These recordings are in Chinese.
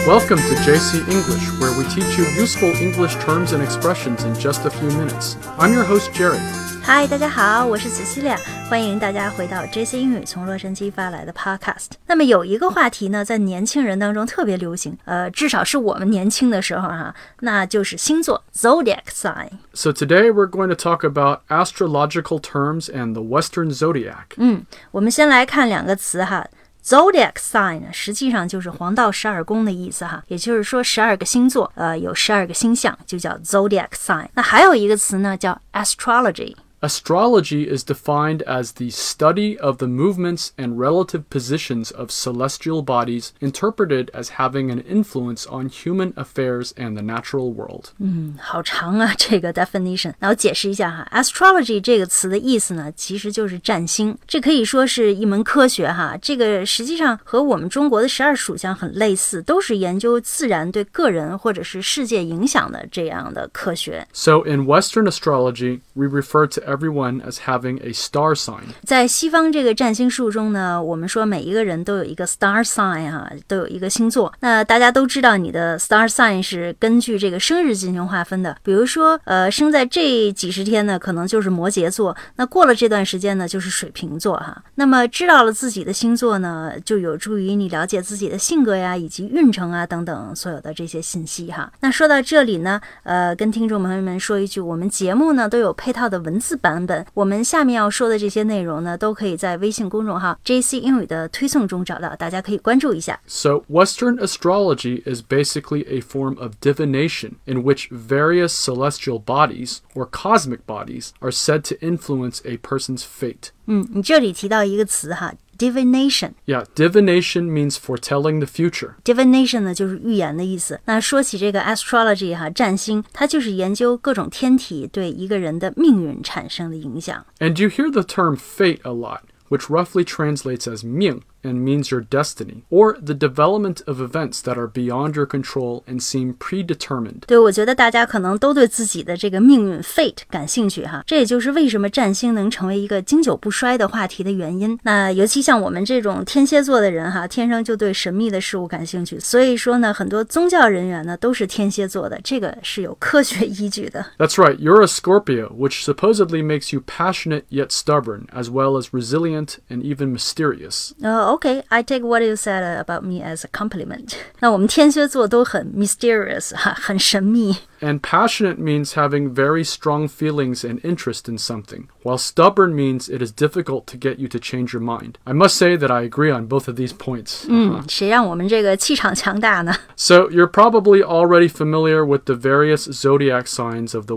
Welcome to JC English, where we teach you useful English terms and expressions in just a few minutes. I'm your host, Jerry. Hi, 大家好，我是 Cecilia， 欢迎大家回到 JC 英语从洛杉矶发来的 Podcast。 那么有一个话题呢，在年轻人当中特别流行，至少是我们年轻的时候那就是星座 Zodiac sign。 So today we're going to talk about astrological terms and the Western Zodiac. 我们先来看两个词Zodiac sign 呢，实际上就是黄道12宫的意思也就是说12个星座，有12个星象，就叫 Zodiac sign。 那还有一个词呢，叫 astrology。Astrology is defined as the study of the movements and relative positions of celestial bodies interpreted as having an influence on human affairs and the natural world. 好长这个 definition。 那我解释一下Astrology 这个词的意思呢，其实就是占星，这可以说是一门科学这个实际上和我们中国的12属相很类似，都是研究自然对个人或者是世界影响的这样的科学。 So in Western astrology, we refer to everyone as having a star sign. 在西方这个占星术中呢，我们说每一个人都有一个 star sign 都有一个星座。那大家都知道你的 star sign 是根据这个生日进行划分的，比如说生在这几十天呢，可能就是摩羯座，那过了这段时间呢，就是水瓶座那么知道了自己的星座呢，就有助于你了解自己的性格以及运程等等所有的这些信息那说到这里呢，跟听众朋友们说一句，我们节目呢都有配套的文字版本，我们下面要说的这些内容呢，都可以在微信公众号 JC 英语的推送中找到，大家可以关注一下。 So Western astrology is basically a form of divination in which various celestial bodies or cosmic bodies are said to influence a person's fate. 你这里提到一个词Divination. Yeah, divination means foretelling the future. Divination 呢就是预言的意思。那说起这个 astrology 占星，它就是研究各种天体对一个人的命运产生的影响。 And you hear the term fate a lot, which roughly translates as 命 and means your destiny, or the development of events that are beyond your control and seem predetermined. 对，我觉得大家可能都对自己的这个命运 fate 感兴趣这也就是为什么占星能成为一个经久不衰的话题的原因。那尤其像我们这种天蝎座的人天生就对神秘的事物感兴趣，所以说呢，很多宗教人员呢都是天蝎座的，这个是有科学依据的。 That's right, you're a Scorpio, which supposedly makes you passionate yet stubborn, as well as resilient and even mysterious. Okay, I take what you said about me as a compliment. 那我们天蝎座都很 mysterious 很神秘。 And passionate means having very strong feelings and interest in something, while stubborn means it is difficult to get you to change your mind. I must say that I agree on both of these points. 谁让我们这个气场强大呢？ So you're probably already familiar with the various zodiac signs of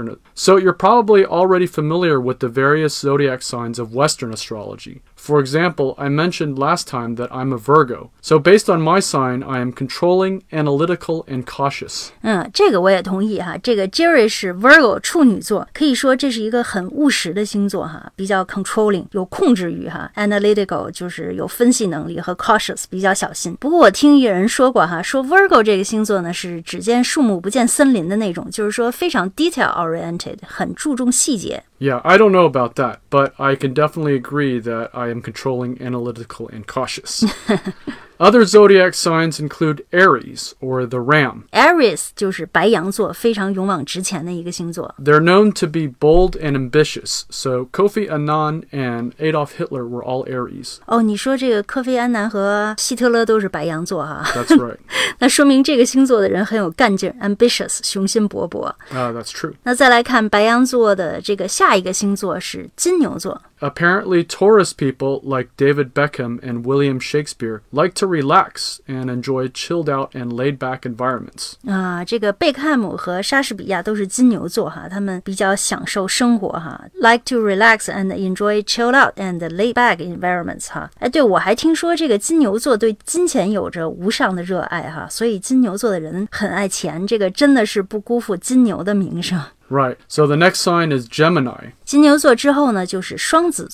Western astrology. For example, I mentioned last time that I'm a Virgo. So based on my sign, I am controlling, analytical, and cautious. 这个我也同意这个 Jerry 是 Virgo 处女座，可以说这是一个很务实的星座比较 controlling 有控制欲analytical 就是有分析能力，和 cautious 比较小心。不过我听有人说过说 Virgo 这个星座呢是只见树木不见森林的那种，就是说非常 detail oriented 很注重细节。 Yeah, I don't know about that, but I can definitely agree that I am controlling, analytical, and cautious. Other zodiac signs include Aries, or the ram. Aries 就是白羊座，非常勇往直前的一个星座。 They're known to be bold and ambitious, so Kofi Annan and Adolf Hitler were all Aries. 你说这个科菲安南和希特勒都是白羊座 That's right. 那说明这个星座的人很有干劲 ambitious 雄心勃勃。 That's true. 那再来看白羊座的这个下一个星座是金牛座。 Apparently, Taurus people like David Beckham and William Shakespeare like to relax and enjoy chilled-out and laid-back environments. 这个贝克汉姆和莎士比亚都是金牛座他们比较享受生活like to relax and enjoy chilled-out and laid-back environments 对，我还听说这个金牛座对金钱有着无上的热爱所以金牛座的人很爱钱，这个真的是不辜负金牛的名声。 Right. So the next sign is Gemini. 金牛座之后呢，就是双子座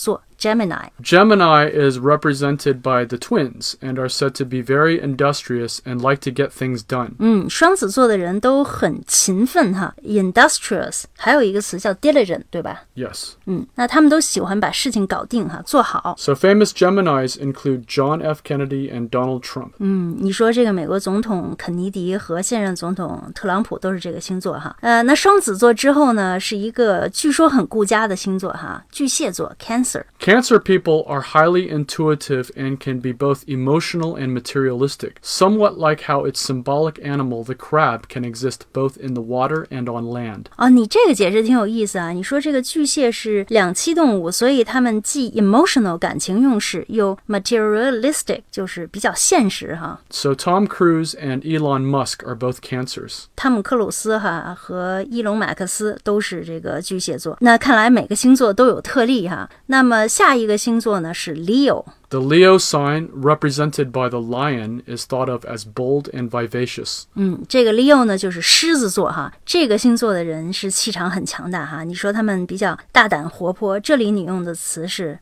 Gemini。 Gemini is represented by the twins and are said to be very industrious and like to get things done. 双子座的人都很勤奋哈 ，industrious， 还有一个词叫 diligent， 对吧？ Yes. 那他们都喜欢把事情搞定哈，做好。 So famous Geminis include John F. Kennedy and Donald Trump. 你说这个美国总统肯尼迪和现任总统特朗普都是这个星座哈。那双子座之后呢，是一个据说很顾家的星座哈，巨蟹座 Cancer。 Cancer people are highly intuitive and can be both emotional and materialistic, somewhat like how its symbolic animal, the crab, can exist both in the water and on land. 你这个解释挺有意思啊。你说这个巨蟹是两栖动物，所以他们既 emotional 感情用事，又 materialistic 就是比较现实哈。 So Tom Cruise and Elon Musk are both Cancers. 汤姆克鲁斯哈和伊隆马克思都是这个巨蟹座。那看来每个星座都有特例哈。那么下一个星座呢是 Leo。The Leo sign, represented by the lion, is thought of as bold and vivacious. 这个 Leo 呢就是狮子座哈，这个星座的人是气场很强大哈。你说他们比较大胆活泼，这里你用的词是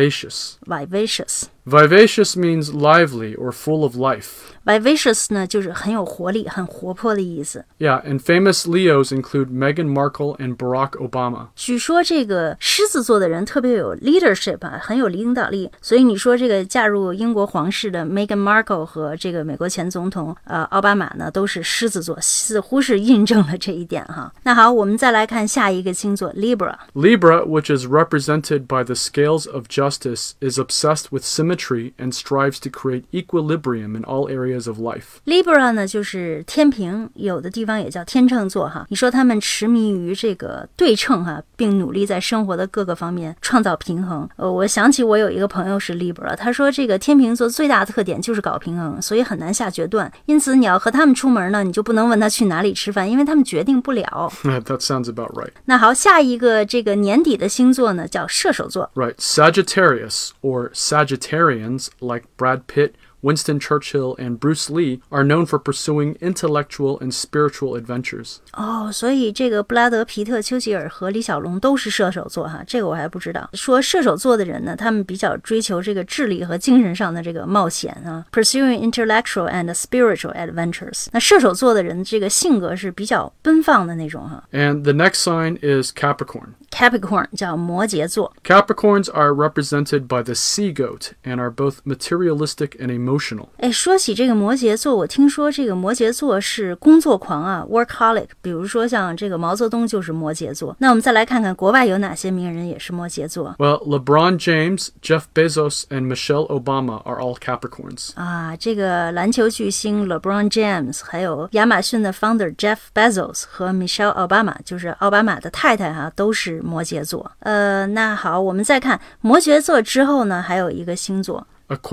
vivacious.Vivacious means lively or full of life. Vivacious 呢就是很有活力、很活泼的意思。 Yeah, and famous Leos include Meghan Markle and Barack Obama. 据说这个狮子座的人特别有 leadership 啊，很有领导力，所以你说这个嫁入英国皇室的 Meghan Markle 和这个美国前总统奥巴马呢都是狮子座，似乎是印证了这一点哈。那好，我们再来看下一个星座 Libra。Libra, which is represented by the scales of justice, is obsessed with symmetry and strives to create equilibrium in all areas of life. Libra 呢就是天平，有的地方也叫天秤座哈。你说他们痴迷于这个对称哈，并努力在生活的各个方面创造平衡。我想起我有一个朋友是 Libra， 他说这个天秤座最大的特点就是搞平衡，所以很难下决断。因此你要和他们出门呢，你就不能问他去哪里吃饭，因为他们决定不了。 That sounds about right. 那好，下一个这个年底的星座呢叫射手座。 Right, Sagittarius or Sagittarians like Brad Pitt,Winston Churchill and Bruce Lee are known for pursuing intellectual and spiritual adventures. 所以这个布拉德·皮特、丘吉尔和李小龙都是射手座哈，这个我还不知道。说射手座的人呢，他们比较追求这个智力和精神上的这个冒险啊 ，pursuing intellectual and spiritual adventures。那射手座的人这个性格是比较奔放的那种哈。 And the next sign is Capricorn 叫摩羯座。 Capricorns are represented by the sea goat and are both materialistic and emotional. 说起这个摩羯座，我听说这个摩羯座是工作狂啊 ，workaholic。比如说像这个毛泽东就是摩羯座。那我们再来看看国外有哪些名人也是摩羯座。 Well, LeBron James, Jeff Bezos, and Michelle Obama are all Capricorns. 这个篮球巨星 LeBron James， 还有亚马逊的 founder Jeff Bezos 和 Michelle Obama， 就是奥巴马的太太哈，都是摩羯座。那好，我们再看摩羯座之后呢，还有一个星座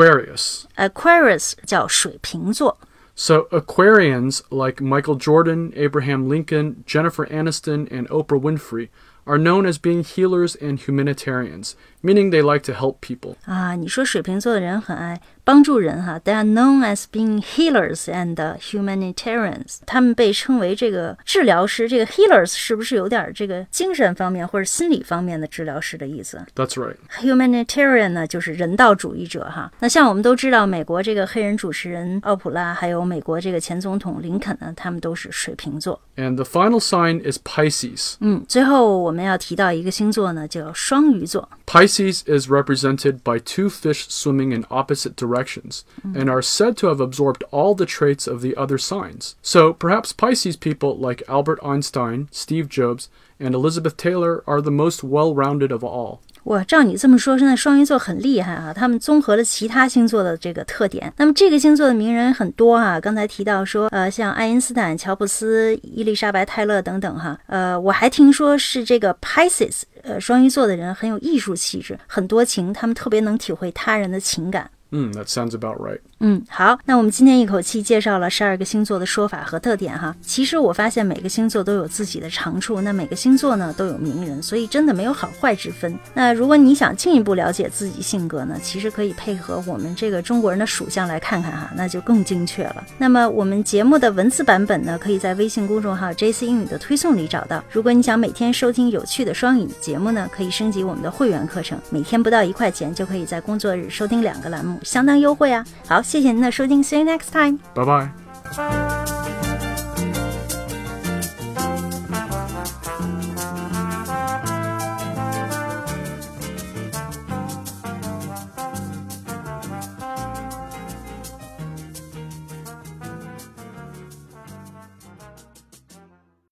Aquarius 叫水瓶座。 So Aquarians, like Michael Jordan, Abraham Lincoln, Jennifer Aniston, and Oprah Winfrey, are known as being healers and humanitarians, meaning they like to help people. 你说水瓶座的人很爱帮助人哈 ，They are known as being healers and humanitarians。他们被称为这个治疗师，这个 healers 是不是有点这个精神方面或者心理方面的治疗师的意思 That's right. Humanitarian 呢就是人道主义者哈。那像我们都知道，美国这个黑人主持人奥普拉，还有美国这个前总统林肯呢，他们都是水瓶座。 And the final sign is Pisces. 最后我们要提到一个星座呢，叫双鱼座。 Pisces is represented by two fish swimming in opposite directions and are said to have absorbed all the traits of the other signs. So perhaps Pisces people like Albert Einstein, Steve Jobs, and Elizabeth Taylor are the most well-rounded of all. 哇，照你这么说，现在双鱼座很厉害啊！他们综合了其他星座的这个特点。那么这个星座的名人很多啊，刚才提到说，像爱因斯坦、乔布斯、伊丽莎白·泰勒等等哈。我还听说是这个 Pisces，双鱼座的人很有艺术气质，很多情，他们特别能体会他人的情感。 That sounds about right. 好，那我们今天一口气介绍了12个星座的说法和特点哈。其实我发现每个星座都有自己的长处，那每个星座呢都有名人，所以真的没有好坏之分。那如果你想进一步了解自己性格呢，其实可以配合我们这个中国人的属相来看看哈，那就更精确了。那么我们节目的文字版本呢，可以在微信公众号 JC 英语的推送里找到。如果你想每天收听有趣的双语节目呢，可以升级我们的会员课程，每天不到1块钱就可以在工作日收听2个栏目，相当优惠啊。好，谢谢您的收听， See you next time， 拜拜。